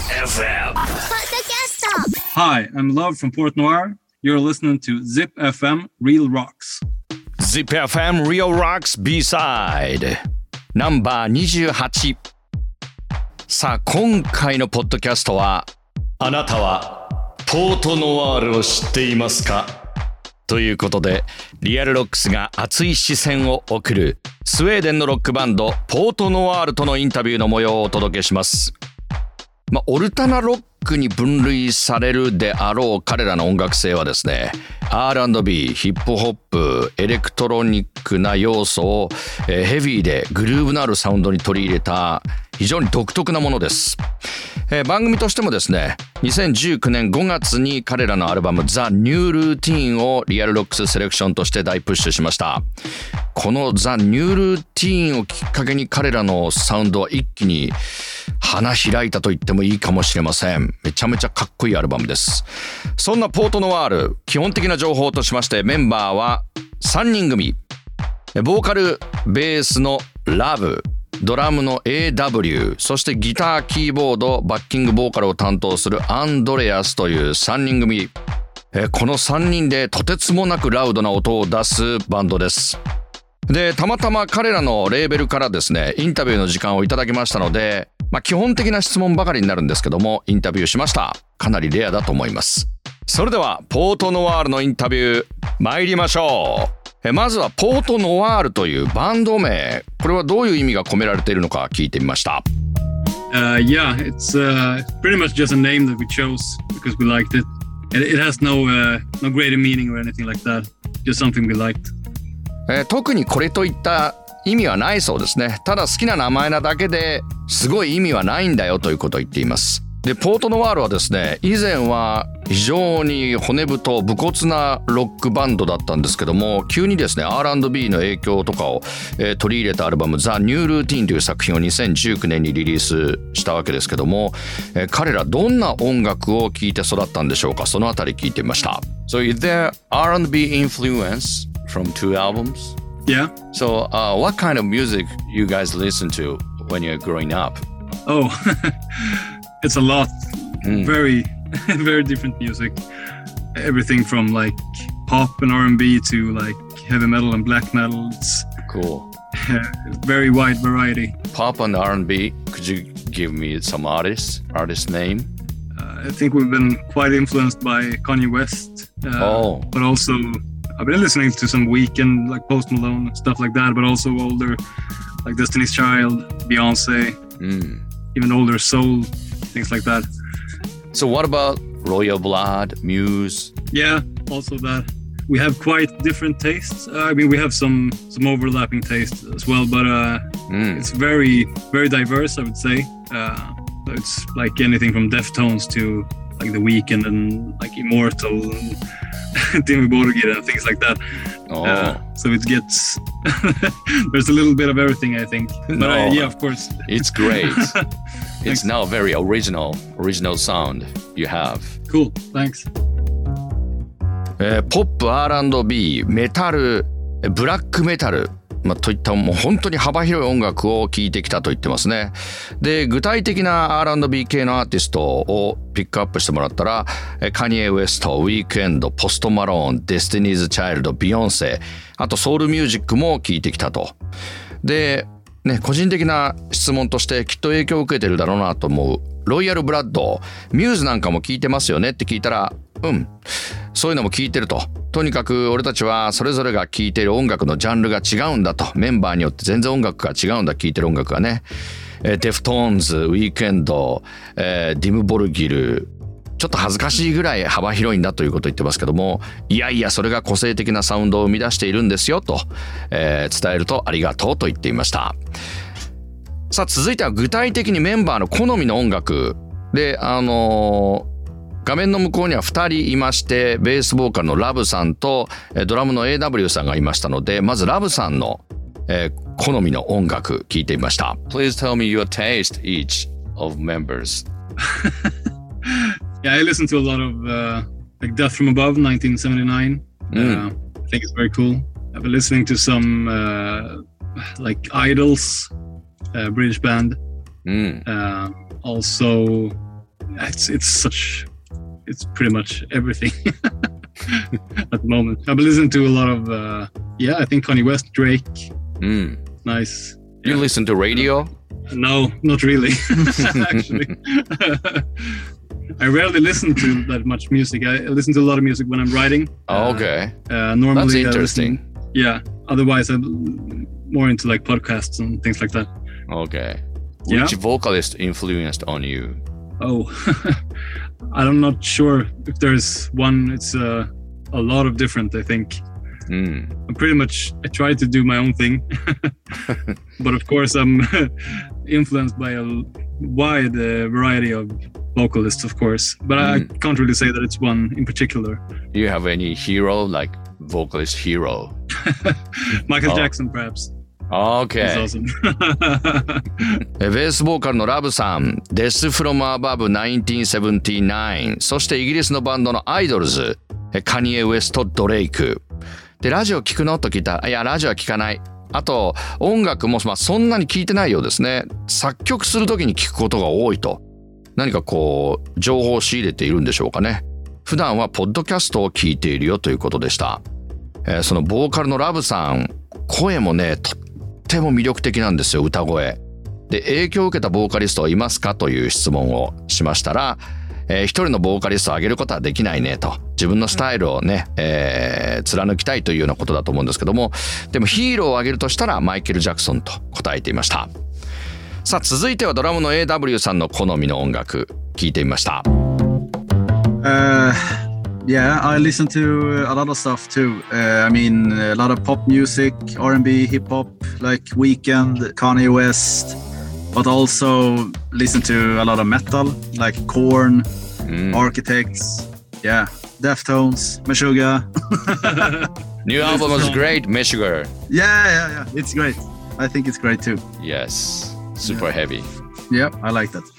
FM Hi, I'm Love from Port Noir. You're listening to Zip FM Real Rocks. Zip FM Real Rocks B-Side ナンバー28。さあ今回のポッドキャストは、あなたはポートノワールを知っていますかということで、リアルロックスが熱い視線を送るスウェーデンのロックバンドポートノワールとのインタビューの模様をお届けします。オルタナロックに分類されるであろう彼らの音楽性はですね、 R&B、ヒップホップ、エレクトロニックな要素をヘビーでグルーヴのあるサウンドに取り入れた非常に独特なものです。番組としてもですね、2019年5月に彼らのアルバム The New Routine をリアルロックスセレクションとして大プッシュしました。この The New Routine をきっかけに彼らのサウンドは一気に花開いたと言ってもいいかもしれません。めちゃめちゃかっこいいアルバムです。そんなポートノワール、基本的な情報としましてメンバーは3人組。ボーカル、ベースのラブ、ドラムの AW、 そしてギター、キーボード、バッキングボーカルを担当するアンドレアスという3人組。この3人でとてつもなくラウドな音を出すバンドです。で、たまたま彼らのレーベルからですね、インタビューの時間をいただきましたので、基本的な質問ばかりになるんですけども、インタビューしました。かなりレアだと思います。それではポートノワールのインタビュー参りましょう。まずはポートノワールというバンド名、これはどういう意味が込められているのか聞いてみました。 Yeah, it's pretty much just a name that we chose because we liked it. It has no greater meaning or anything like that. Just something we liked. 特にこれといった意味はないそうですね。ただ好きな名前なだけですごい意味はないんだよということを言っています。で、ポートノワールはですね、以前は非常に骨太武骨なロックバンドだったんですけども、急にですね R&B の影響とかを、取り入れたアルバム The New Routine という作品を2019年にリリースしたわけですけども、彼らどんな音楽を聴いて育ったんでしょうか。そのあたり聞いてみました。 So is there R&B influence from two albums? Yeah. So what kind of music you guys listen to when you're growing up? Oh, it's a lot. Very, very different music. Everything from like pop and R&B to like heavy metal and black metal. It's Cool. Very wide variety. Pop and R&B. Could you give me some artist name? I think we've been quite influenced by Kanye West. But also I've been listening to some Weeknd, like Post Malone, stuff like that, but also older, like Destiny's Child, Beyonce, even older soul, things like that. So what about Royal Blood, Muse? Yeah, also that. We have quite different tastes. I mean, we have some overlapping tastes as well, but it's very, very diverse, I would say. It's like anything from Deftones to like The Weeknd and like Immortal and Dimmu Borgir and things like that. So it gets there's a little bit of everything, I think. But yeah, of course. It's great. It's now very original sound you have. Cool, thanks. ポップ、R&B、メタル、ブラックメタル、といったもう本当に幅広い音楽を聴いてきたと言ってますね。で、具体的な R&B 系のアーティストをピックアップしてもらったら、カニエ・ウエスト、ウィークエンド、ポスト・マローン、デスティニーズ・チャイルド、ビヨンセ、あとソウルミュージックも聴いてきたと。で、個人的な質問としてきっと影響を受けてるだろうなと思うロイヤル・ブラッド、ミューズなんかも聴いてますよねって聞いたら、そういうのも聴いてると。とにかく俺たちはそれぞれが聴いている音楽のジャンルが違うんだと。メンバーによって全然音楽が違うんだ、聴いてる音楽がね。デフトーンズ、ウィークエンド、ディム・ボルギル、ちょっと恥ずかしいぐらい幅広いんだということを言ってますけども、いやいやそれが個性的なサウンドを生み出しているんですよと、伝えるとありがとうと言っていました。さあ続いては具体的にメンバーの好みの音楽で、画面の向こうには2人いまして、ベースボーカルのラブさんとドラムの AW さんがいましたので、まずラブさんの、好みの音楽聞いてみました。 Please tell me your taste each of members. Yeah, I listen to a lot of like Death from Above, 1979. I think it's very cool. I've been listening to some like Idols, British band. Also it's pretty much everything at the moment. I've been listening to a lot of I think Kanye West, Drake. Nice. You listen to radio? No, not really. Actually, I rarely listen to that much music. I listen to a lot of music when I'm writing. Okay. Normally, that's interesting. Otherwise, I'm more into like podcasts and things like that. Okay. Which vocalist influenced on you? Oh, I'm not sure if there's one. It's a lot of different, I think. I try to do my own thing. But of course, I'm influenced by a wide variety of vocalists, of course. But I can't really say that it's one in particular. Do you have any hero, like vocalist hero? Michael Jackson, perhaps. Okay. He's awesome. ベースボーカルのラブさん、Death from Above 1979、そしてイギリスのバンドのアイドルズ、カニエ・ウエスト・ドレイク。で、ラジオ聞くのと聞いたら、いや、ラジオは聞かない。あと、音楽も、そんなに聞いてないようですね。作曲するときに聞くことが多いと。何かこう、情報を仕入れているんでしょうかね。普段はポッドキャストを聞いているよということでした。そのボーカルのラブさん、声もね、とっても魅力的なんですよ、歌声。で、影響を受けたボーカリストはいますかという質問をしましたら、一人のボーカリストを上げることはできないねと。自分のスタイルをね、貫きたいというようなことだと思うんですけども、でもヒーローを上げるとしたらマイケル・ジャクソンと答えていました。さあ、続いてはドラムの AW さんの好みの音楽、聞いてみました。 Yeah, I listen to a lot of stuff too. I mean, a lot of pop music, R&B, hip hop, like Weeknd, Kanye West, but also listen to a lot of metal, like Korn, Architects, Deftones, Meshuggah. New album was great, Meshuggah. Yeah, it's great. I think it's great too. Yes, super heavy. Yeah, I like that.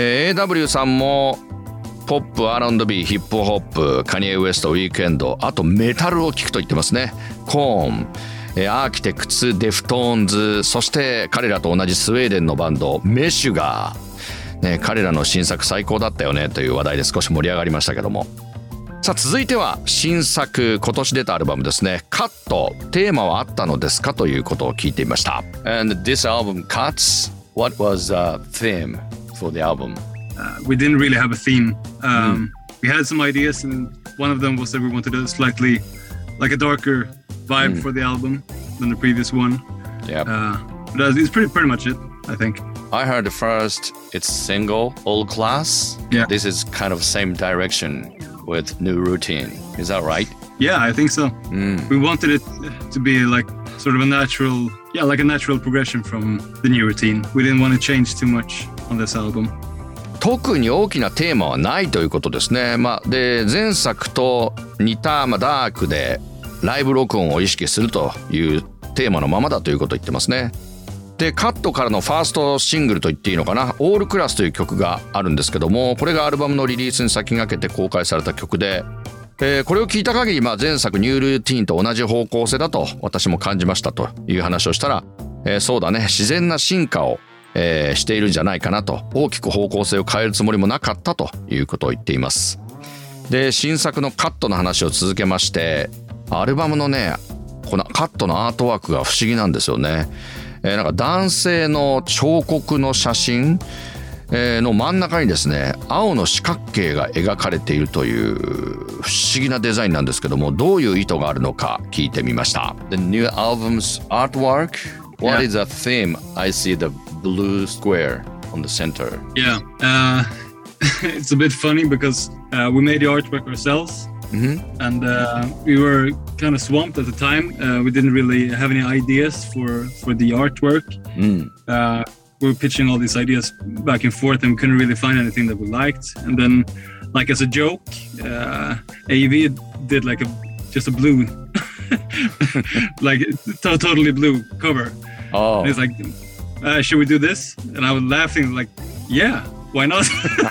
AW さんもポップ、R&B、ヒップホップ、カニエ・ウエスト、ウィークエンド、あとメタルを聴くと言ってますね。コーン、アーキテクツ、デフトーンズ、そして彼らと同じスウェーデンのバンドメシュガー、ね、彼らの新作最高だったよねという話題で少し盛り上がりましたけども。さあ、続いては新作、今年出たアルバムですね。カット、テーマはあったのですかということを聞いてみました。 And this album, Cuts, what was the theme for the album?We didn't really have a theme. We had some ideas, and one of them was that we wanted a slightly like a darker vibe for the album than the previous one. Yeah. But it's pretty much it, I think. I heard first it's single, Old Class. Yeah. This is kind of same direction with New Routine. Is that right? Yeah, I think so. We wanted it to be like sort of a natural progression from the New Routine. We didn't want to change too much on this album. 特に大きなテーマはないということですね。で前作と似た、ダークでライブ録音を意識するというテーマのままだということを言ってますね。でカットからのファーストシングルと言っていいのかな、オールクラスという曲があるんですけども、これがアルバムのリリースに先駆けて公開された曲で、これを聞いた限り、前作ニュールーティーンと同じ方向性だと私も感じましたという話をしたら、そうだね、自然な進化をしているんじゃないかなと、大きく方向性を変えるつもりもなかったということを言っています。で新作のカットの話を続けまして、アルバムのねこのカットのアートワークが不思議なんですよね。なんか男性の彫刻の写真の真ん中にですね、青の四角形が描かれているという不思議なデザインなんですけども、どういう意図があるのか聞いてみました。 The new album's artwork, what is the theme? I see the blue square on the center. Yeah, it's a bit funny because we made the artwork ourselves, and we were kind of swamped at the time. We didn't really have any ideas for the artwork. We were pitching all these ideas back and forth, and we couldn't really find anything that we liked. And then, like as a joke, AEV did like just a blue, like totally blue cover. Oh, and he's like, should we do this? And I was laughing like, yeah, why not?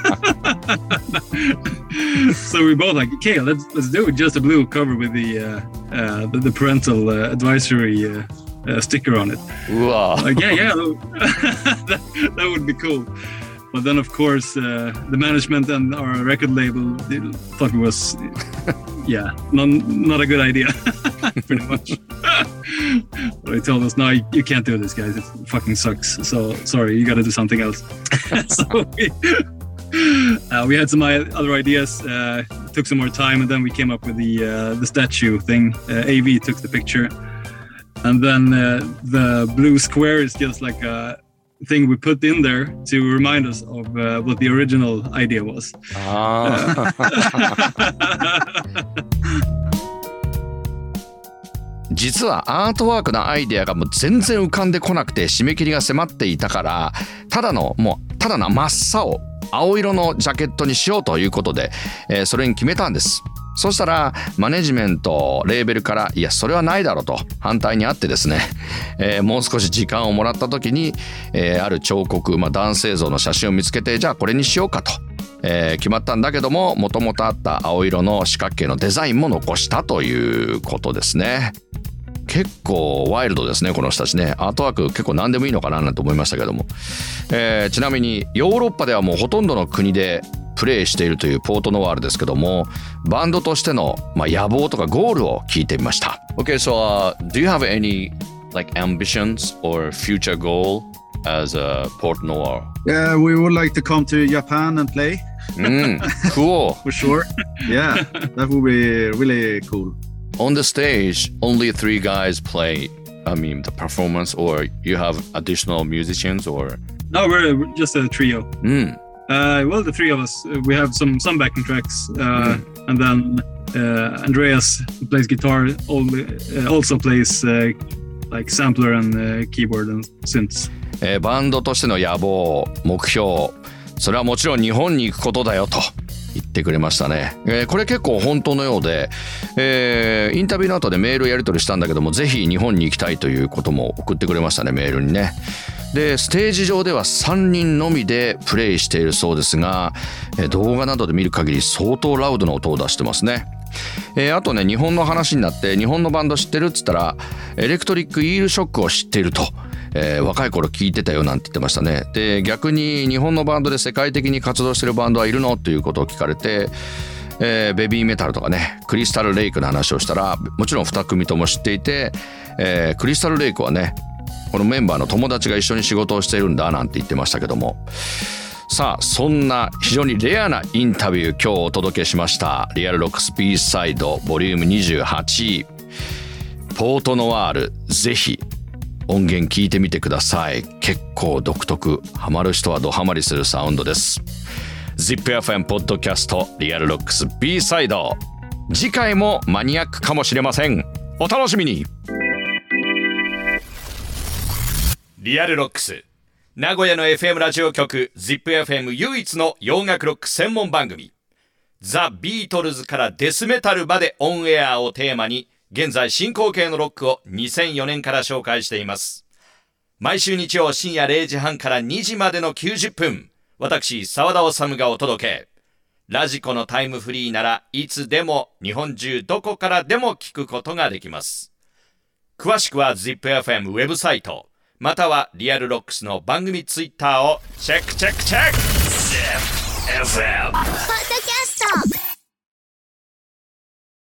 So we both like, okay, let's do it. Just a blue cover with the parental advisory sticker on it. Wow. Like, yeah, that would be cool. But then, of course, the management and our record label thought it was, not a good idea, pretty much. But they told us, no, you can't do this, guys. It fucking sucks. So, sorry, you got to do something else. So we had some other ideas, took some more time, and then we came up with the statue thing. AV took the picture. And then the blue square is just like a thing we put in there to remind us of what the original idea was. 実はアートワークのアイデアがもう全然浮かんでこなくて締め切りが迫っていたからただの真っ青青色のジャケットにしようということで、それに決めたんです。そしたらマネジメントレーベルからいやそれはないだろうと反対にあってですね、もう少し時間をもらった時に、ある彫刻、男性像の写真を見つけてじゃあこれにしようかと、決まったんだけどももともとあった青色の四角形のデザインも残したということですね。結構ワイルドですねこの人たちね。アートワーク結構何でもいいのかななんて思いましたけども、ちなみにヨーロッパではもうほとんどの国でプレイしているというポートノワールですけどもバンドとしての、野望とかゴールを聞いてみました。 Okay, so do you have any like ambitions or future goal as a Port Noir? Yeah, we would like to come to Japan and play. Cool. For sure. Yeah, that would be really cool. On the stage, only 3 guys play, the performance, or you have additional musicians, or? No, we're just a trio. Well, the 3 of us, we have some backing tracks, and then Andreas, who plays guitar, also plays like sampler and keyboard and synths. バンドとしての野望、目標、それはもちろん日本に行くことだよと言ってくれましたね。これ結構本当のようで、インタビューの後でメールやり取りしたんだけどもぜひ日本に行きたいということも送ってくれましたねメールにね。でステージ上では3人のみでプレイしているそうですが、動画などで見る限り相当ラウドな音を出してますね。あとね日本の話になって日本のバンド知ってるっつったらエレクトリックイールショックを知っていると、若い頃聞いてたよなんて言ってましたね。で逆に日本のバンドで世界的に活動してるバンドはいるのということを聞かれて、ベビーメタルとかねクリスタルレイクの話をしたらもちろん2組とも知っていて、クリスタルレイクはねこのメンバーの友達が一緒に仕事をしているんだなんて言ってましたけども、さあそんな非常にレアなインタビュー今日お届けしました。リアルロックス B サイドボリューム28ポートノワール、ぜひ音源聞いてみてください。結構独特、ハマる人はドハマりするサウンドです。 ZIPFM ポッドキャストリアルロックス B サイド、次回もマニアックかもしれません。お楽しみに。リアルロックス、名古屋の FM ラジオ局 ZIPFM 唯一の洋楽ロック専門番組。ザ・ビートルズからデスメタルまでオンエアをテーマに現在進行形のロックを2004年から紹介しています。毎週日曜深夜0時半から2時までの90分、私澤田治がお届け。ラジコのタイムフリーならいつでも日本中どこからでも聞くことができます。詳しくは ZIPFM ウェブサイトまたはリアルロックスの番組ツイッターをチェック。 ZIPFM